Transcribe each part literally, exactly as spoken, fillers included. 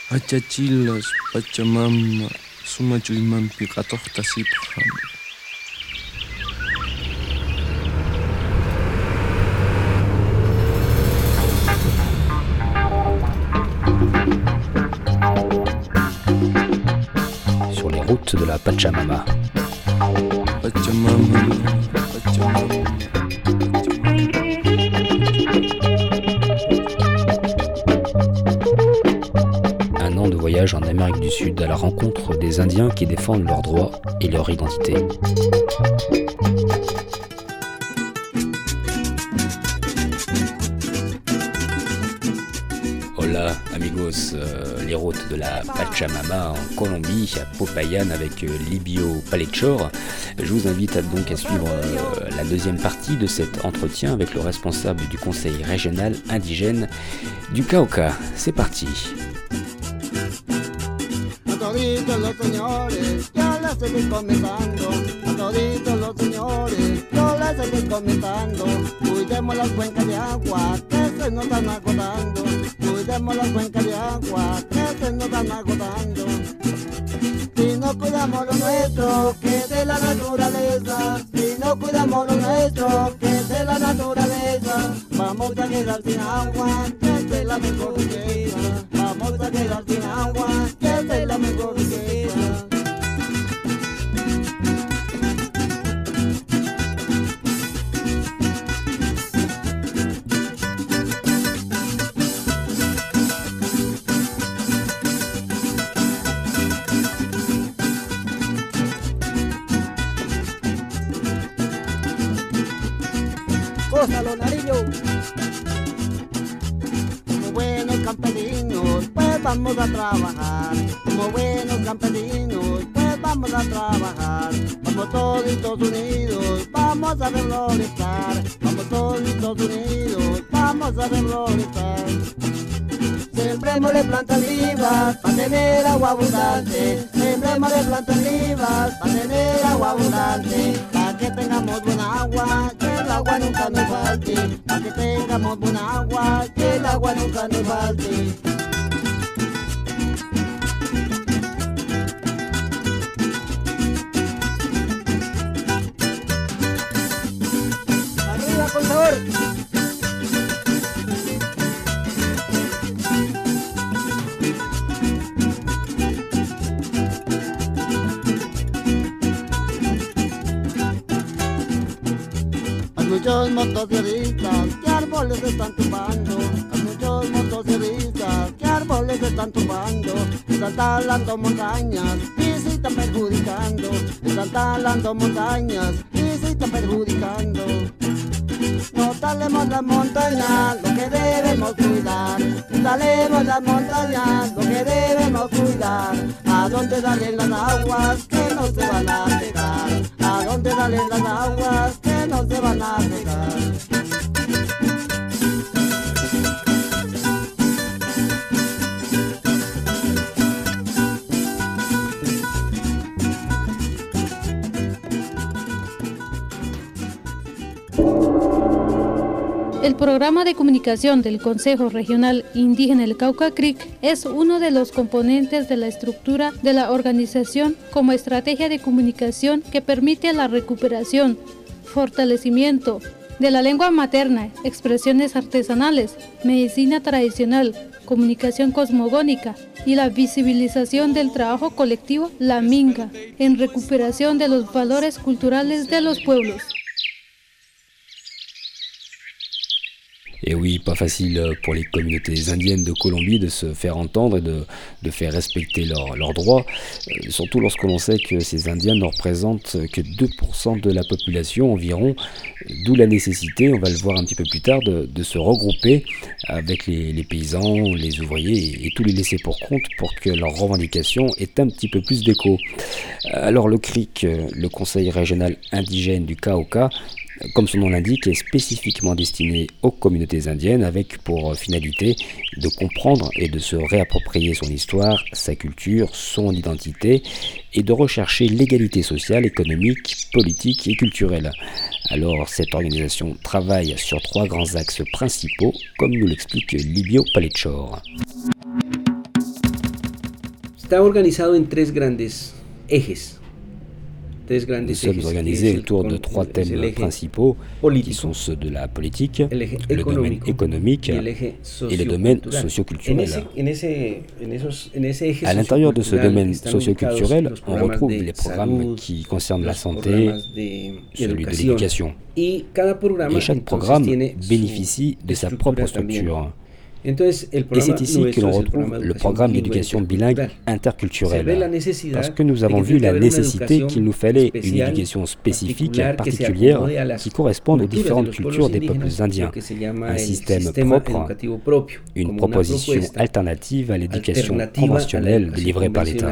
Achachilas, Pachamama, Sumachuymanpi qhatuqtasiphan. Sur les routes de la Pachamama. Pachamama, Pachamama. Un an de voyage en Amérique du Sud à la rencontre des Indiens qui défendent leurs droits et leur identité. Hola amigos, euh, les routes de la Pachamama en Colombie, à Popayan avec euh, Libio Palechor. Je vous invite à, donc à suivre euh, la deuxième partie de cet entretien avec le responsable du conseil régional indigène du Cauca. C'est parti. Toditos los señores, ya la seguí comenzando. A toditos los señores, yo la seguí comenzando. Cuidemos las cuencas de agua que se nos están agotando. Cuidemos las cuencas de agua que se nos están agotando. Si no cuidamos lo nuestro, que es de la naturaleza. Si no cuidamos lo nuestro, que es de la naturaleza. Vamos a quedar sin agua, que es la mejor riqueza. Vamos a quedar sin agua, que es la mejor riqueza. Gózalo, Nariño. Como buenos campesinos, pues vamos a trabajar. Como buenos campesinos, pues vamos a trabajar. Vamos toditos unidos, vamos a reflorestar. Vamos toditos unidos, vamos a reflorestar. Sembremosle plantas vivas para tener agua abundante. Sembremosle plantas vivas para tener agua abundante. Para que tengamos buena agua, que el agua nunca nos falte. Para que tengamos buena agua, que el agua nunca nos falte. Arriba, por favor. Muchos motociclistas, ¿qué árboles están tumbando? Hay muchos motociclistas, ¿qué árboles están tumbando? Están talando montañas y se están perjudicando. Están talando montañas y se están perjudicando. No talemos las montañas, lo que debemos cuidar. No talemos las montañas, lo que debemos cuidar. ¿A dónde salen las aguas que no se van a secar? ¿A dónde salen las aguas que no se van a secar? El programa de comunicación del Consejo Regional Indígena del Cauca C R I C es uno de los componentes de la estructura de la organización como estrategia de comunicación que permite la recuperación, fortalecimiento de la lengua materna, expresiones artesanales, medicina tradicional, comunicación cosmogónica y la visibilización del trabajo colectivo, la minga, en recuperación de los valores culturales de los pueblos. Et oui, pas facile pour les communautés indiennes de Colombie de se faire entendre et de, de faire respecter leurs leurs droits, euh, surtout lorsque l'on sait que ces Indiens ne représentent que deux pour cent de la population environ, d'où la nécessité, on va le voir un petit peu plus tard, de, de se regrouper avec les, les paysans, les ouvriers et, et tous les laissés pour compte pour que leurs revendications aient un petit peu plus d'écho. Alors le C R I C, le Conseil régional indigène du Cauca, comme son nom l'indique, est spécifiquement destiné aux communautés indiennes avec pour finalité de comprendre et de se réapproprier son histoire, sa culture, son identité et de rechercher l'égalité sociale, économique, politique et culturelle. Alors cette organisation travaille sur trois grands axes principaux, comme nous l'explique Libio Palechor. está organizado en tres grandes ejes. Nous sommes organisés autour de trois thèmes principaux qui sont ceux de la politique, le domaine économique et le domaine socioculturel. À l'intérieur de ce domaine socioculturel, on retrouve les programmes qui concernent la santé, celui de l'éducation. Et chaque programme bénéficie de sa propre structure. Et c'est ici que l'on retrouve le programme d'éducation bilingue interculturelle, parce que nous avons vu la nécessité qu'il nous fallait une éducation spécifique, particulière, qui corresponde aux différentes cultures des peuples indiens, un système propre, une proposition alternative à l'éducation conventionnelle délivrée par l'État.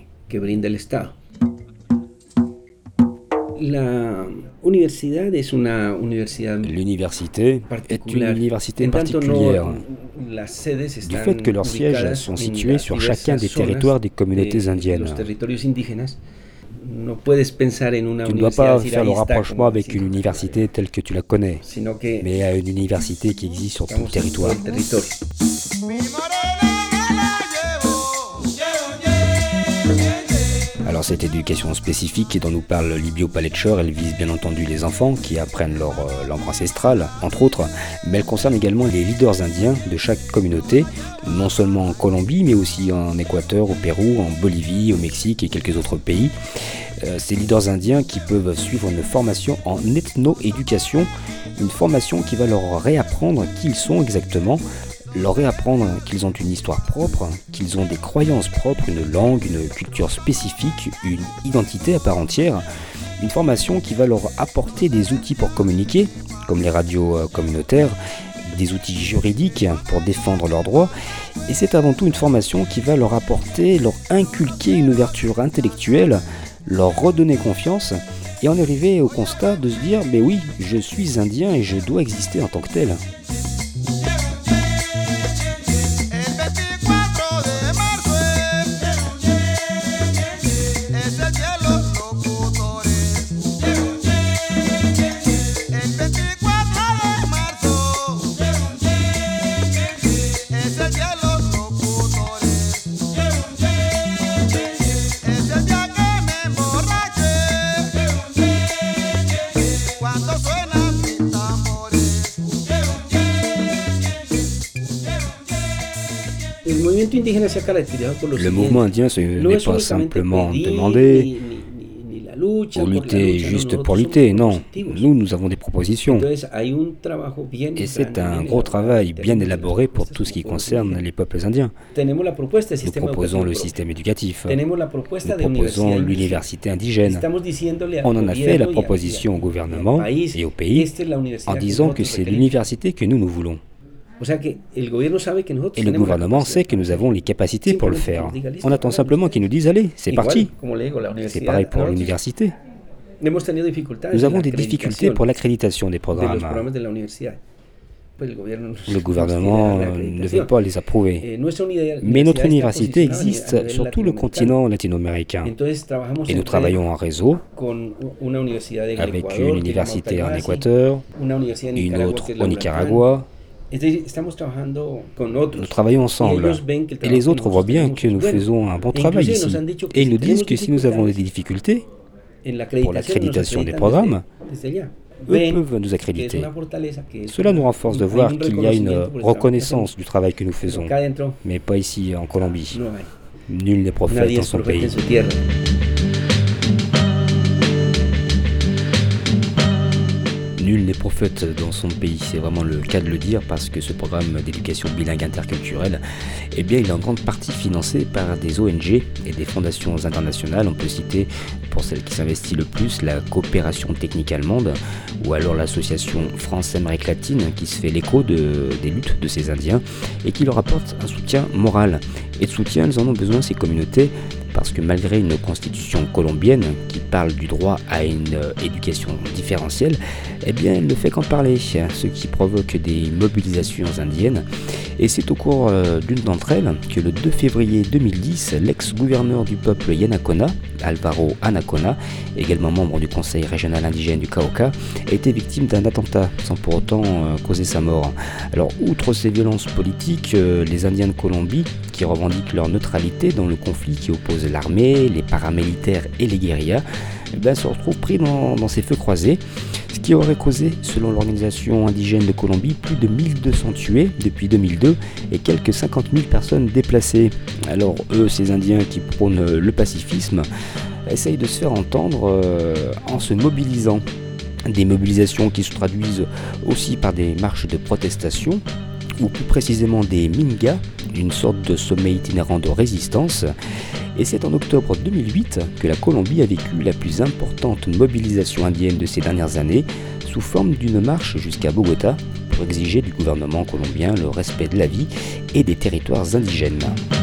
L'université est une université particulière du fait que leurs sièges sont situés sur chacun des territoires des communautés indiennes. Tu ne dois pas faire le rapprochement avec une université telle que tu la connais, mais à une université qui existe sur tout le territoire. Alors cette éducation spécifique dont nous parle Libio Paletcher, elle vise bien entendu les enfants qui apprennent leur euh, langue ancestrale, entre autres, mais elle concerne également les leaders indiens de chaque communauté, non seulement en Colombie, mais aussi en Équateur, au Pérou, en Bolivie, au Mexique et quelques autres pays. Euh, ces leaders indiens qui peuvent suivre une formation en ethno-éducation, une formation qui va leur réapprendre qui ils sont exactement, leur réapprendre qu'ils ont une histoire propre, qu'ils ont des croyances propres, une langue, une culture spécifique, une identité à part entière, une formation qui va leur apporter des outils pour communiquer, comme les radios communautaires, des outils juridiques pour défendre leurs droits, et c'est avant tout une formation qui va leur apporter, leur inculquer une ouverture intellectuelle, leur redonner confiance, et en arriver au constat de se dire « mais oui, je suis indien et je dois exister en tant que tel ». Le mouvement indien ce n'est pas simplement demander ou lutter juste pour lutter, non. Nous, nous avons des propositions. Et c'est un gros travail bien élaboré pour tout ce qui concerne les peuples indiens. Nous proposons le système éducatif. Nous proposons l'université indigène. On en a fait la proposition au gouvernement et au pays en disant que c'est l'université que nous, nous voulons. Et le gouvernement sait que nous avons les capacités pour le faire. On attend simplement qu'ils nous disent « Allez, c'est parti ». C'est pareil pour l'université. Nous avons des difficultés pour l'accréditation des programmes. Le gouvernement ne veut pas les approuver. Mais notre université existe sur tout le continent latino-américain. Et nous travaillons en réseau avec une université en Équateur, une autre au Nicaragua. Nous travaillons ensemble et les autres voient bien que nous faisons un bon travail ici. Et ils nous disent que si nous avons des difficultés pour l'accréditation des programmes, eux peuvent nous accréditer. Cela nous renforce de voir qu'il y a une reconnaissance du travail que nous faisons, mais pas ici en Colombie. Nul n'est prophète dans son pays. Nul n'est prophète dans son pays, c'est vraiment le cas de le dire parce que ce programme d'éducation bilingue interculturelle, eh bien, il est en grande partie financé par des O N G et des fondations internationales. On peut citer, pour celle qui s'investit le plus, la coopération technique allemande ou alors l'association France-Amérique latine qui se fait l'écho de, des luttes de ces Indiens et qui leur apporte un soutien moral. Et de soutien, elles en ont besoin, ces communautés, parce que malgré une constitution colombienne qui parle du droit à une éducation différentielle, eh bien elle ne fait qu'en parler, ce qui provoque des mobilisations indiennes. Et c'est au cours d'une d'entre elles que le deux février deux mille dix, l'ex-gouverneur du peuple Yanacona, Alvaro Anacona, également membre du conseil régional indigène du Cauca, a été victime d'un attentat sans pour autant causer sa mort. Alors outre ces violences politiques, les Indiens de Colombie, qui revendiquent leur neutralité dans le conflit qui oppose l'armée, les paramilitaires et les guérillas, eh bien, se retrouvent pris dans, dans ces feux croisés, ce qui aurait causé, selon l'organisation indigène de Colombie, plus de mille deux cents tués depuis deux mille deux et quelques cinquante mille personnes déplacées. Alors eux, ces Indiens qui prônent le pacifisme, essayent de se faire entendre euh, en se mobilisant. Des mobilisations qui se traduisent aussi par des marches de protestation, ou plus précisément des mingas, une sorte de sommet itinérant de résistance. Et c'est en octobre deux mille huit que la Colombie a vécu la plus importante mobilisation indienne de ces dernières années, sous forme d'une marche jusqu'à Bogota pour exiger du gouvernement colombien le respect de la vie et des territoires indigènes.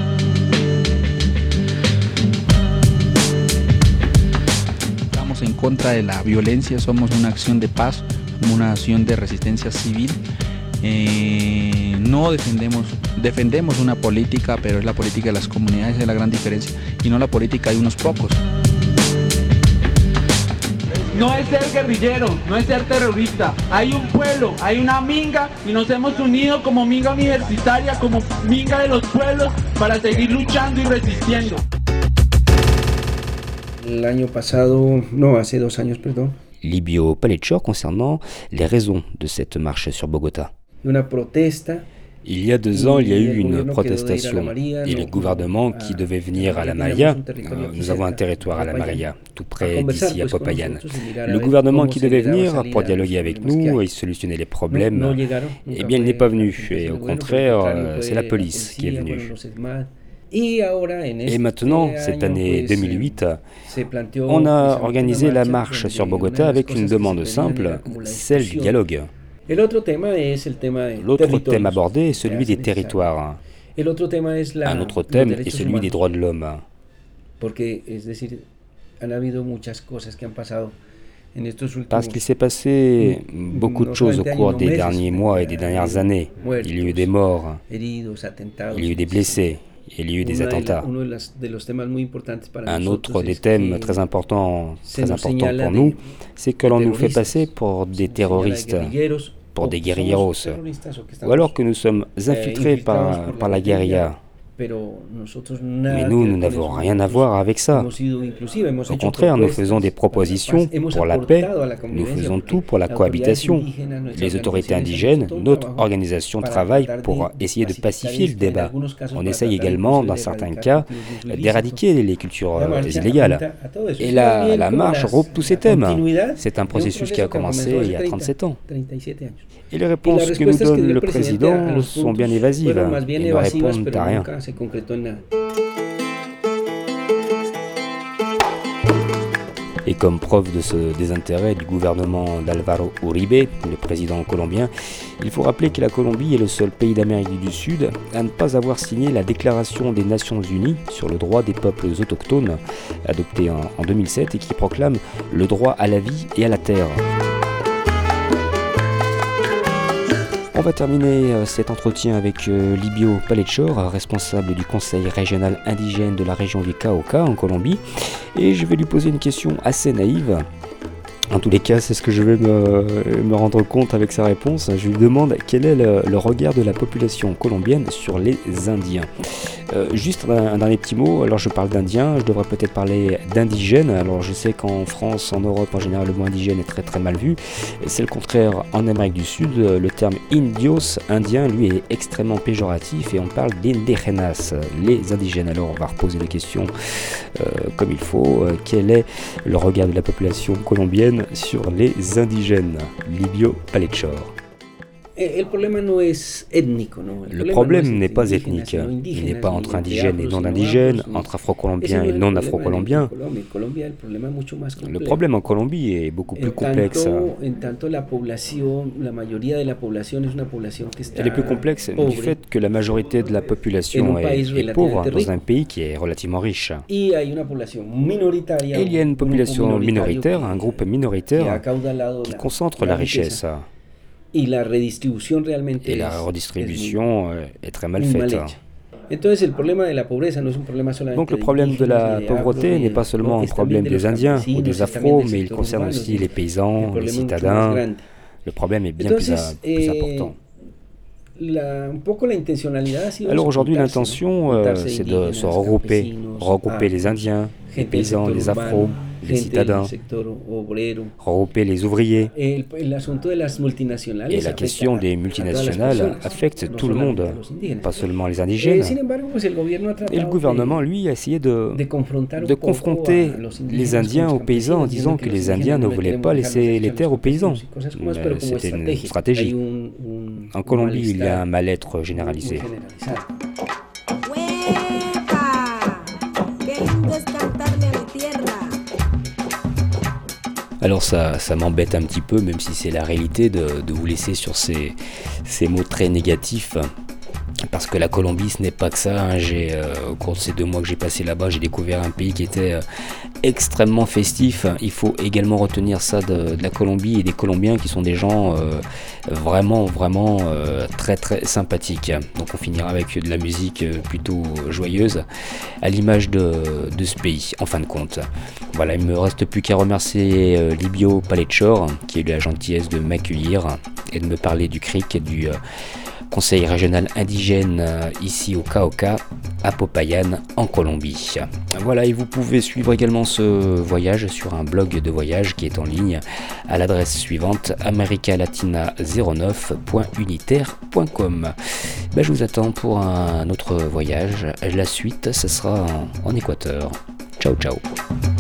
Estamos en contra de la violencia, somos una acción de paz, una acción de resistencia civil. Eh, no defendemos, defendemos una política, pero es la política de las comunidades, es la gran diferencia, y no la política de unos pocos. No es ser guerrillero, no es ser terrorista. Hay un pueblo, hay una minga y nos hemos unido como minga universitaria, como minga de los pueblos para seguir luchando y resistiendo. El año pasado, no, hace dos años, perdón. Libio Palechor concernant les raisons de cette marche sur Bogota. Una protesta. Il y a deux ans, il y a eu une protestation et le gouvernement qui devait venir à la Maria, nous avons un territoire à la Maria, tout près d'ici à Popayan. Le gouvernement qui devait venir pour dialoguer avec nous et solutionner les problèmes, eh bien il n'est pas venu, et au contraire, c'est la police qui est venue. Et maintenant, cette année deux mille huit, on a organisé la marche sur Bogota avec une demande simple, celle du dialogue. L'autre thème abordé est celui des territoires. Un autre thème est celui des droits de l'homme. Parce qu'il s'est passé beaucoup de choses au cours des derniers mois et des dernières années. Il y a eu des morts, il y a eu des blessés, il y a eu des attentats. Un autre des thèmes très importants, très importants pour nous, c'est que l'on nous fait passer pour des terroristes, pour des guérilleros, ou alors que nous sommes infiltrés par, par la guérilla. Mais nous, nous n'avons rien à voir avec ça. Au contraire, nous faisons des propositions pour la paix, nous faisons tout pour la cohabitation. Les autorités indigènes, notre organisation travaille pour essayer de pacifier le débat. On essaye également, dans certains cas, d'éradiquer les cultures illégales. Et la, la marche regroupe tous ces thèmes. C'est un processus qui a commencé il y a trente-sept ans. Et les réponses que nous donne le président sont bien évasives. Ils ne répondent à rien. Et comme preuve de ce désintérêt du gouvernement d'Alvaro Uribe, le président colombien, il faut rappeler que la Colombie est le seul pays d'Amérique du Sud à ne pas avoir signé la Déclaration des Nations Unies sur le droit des peuples autochtones, adoptée en, en deux mille sept et qui proclame le droit à la vie et à la terre. On va terminer cet entretien avec Libio Palechor, responsable du conseil régional indigène de la région du Cauca en Colombie, et je vais lui poser une question assez naïve. En tous les cas, c'est ce que je vais me, me rendre compte avec sa réponse. Je lui demande quel est le, le regard de la population colombienne sur les Indiens. Euh, juste un, un dernier petit mot, alors je parle d'Indiens, je devrais peut-être parler d'indigènes. Alors je sais qu'en France, en Europe en général, le mot indigène est très très mal vu. C'est le contraire en Amérique du Sud. Le terme indios, indien, lui est extrêmement péjoratif et on parle d'indígenas, les indigènes. Alors on va reposer les questions euh, comme il faut. Euh, quel est le regard de la population colombienne sur les indigènes? Libio Palechor. El problema no es étnico, no. Le problème n'est pas ethnique, il n'est pas entre indigènes et non-indigènes, entre afro-colombiens et non-afro-colombiens. Le problème en Colombie est beaucoup plus complexe. Elle est plus complexe du fait que la majorité de la population est, est pauvre dans un pays qui est relativement riche. Et il y a une population minoritaire, un groupe minoritaire qui concentre la richesse. Et la redistribution est très mal faite. Donc le problème de la pauvreté n'est pas seulement un problème des Indiens ou des Afros, mais il concerne aussi les paysans, les citadins. Le problème est bien plus, à, plus important. Alors aujourd'hui, l'intention, euh, c'est de se regrouper, regrouper les Indiens, les paysans, les Afros, les citadins, regrouper les ouvriers. Et la question des multinationales affecte tout le monde, pas seulement les indigènes. Et le gouvernement, lui, a essayé de, de confronter les Indiens aux paysans en disant que les Indiens ne voulaient pas laisser les terres aux paysans. C'était une stratégie. En Colombie, il y a un mal-être généralisé. Alors ça, ça m'embête un petit peu, même si c'est la réalité, de, de vous laisser sur ces, ces mots très négatifs. Parce que la Colombie, ce n'est pas que ça. Hein. J'ai, euh, au cours de ces deux mois que j'ai passé là-bas, j'ai découvert un pays qui était euh, extrêmement festif. Il faut également retenir ça de, de la Colombie et des Colombiens qui sont des gens euh, vraiment, vraiment euh, très, très sympathiques. Donc on finira avec de la musique plutôt joyeuse, à l'image de, de ce pays, en fin de compte. Voilà, il ne me reste plus qu'à remercier euh, Libio Palechor, qui a eu la gentillesse de m'accueillir et de me parler du C R I C et du... Euh, Conseil régional indigène euh, ici au Cauca, à Popayan, en Colombie. Voilà, et vous pouvez suivre également ce voyage sur un blog de voyage qui est en ligne à l'adresse suivante americalatina zéro neuf point unitaire point com. Ben, je vous attends pour un autre voyage. La suite, ce sera en, en Équateur. Ciao, ciao.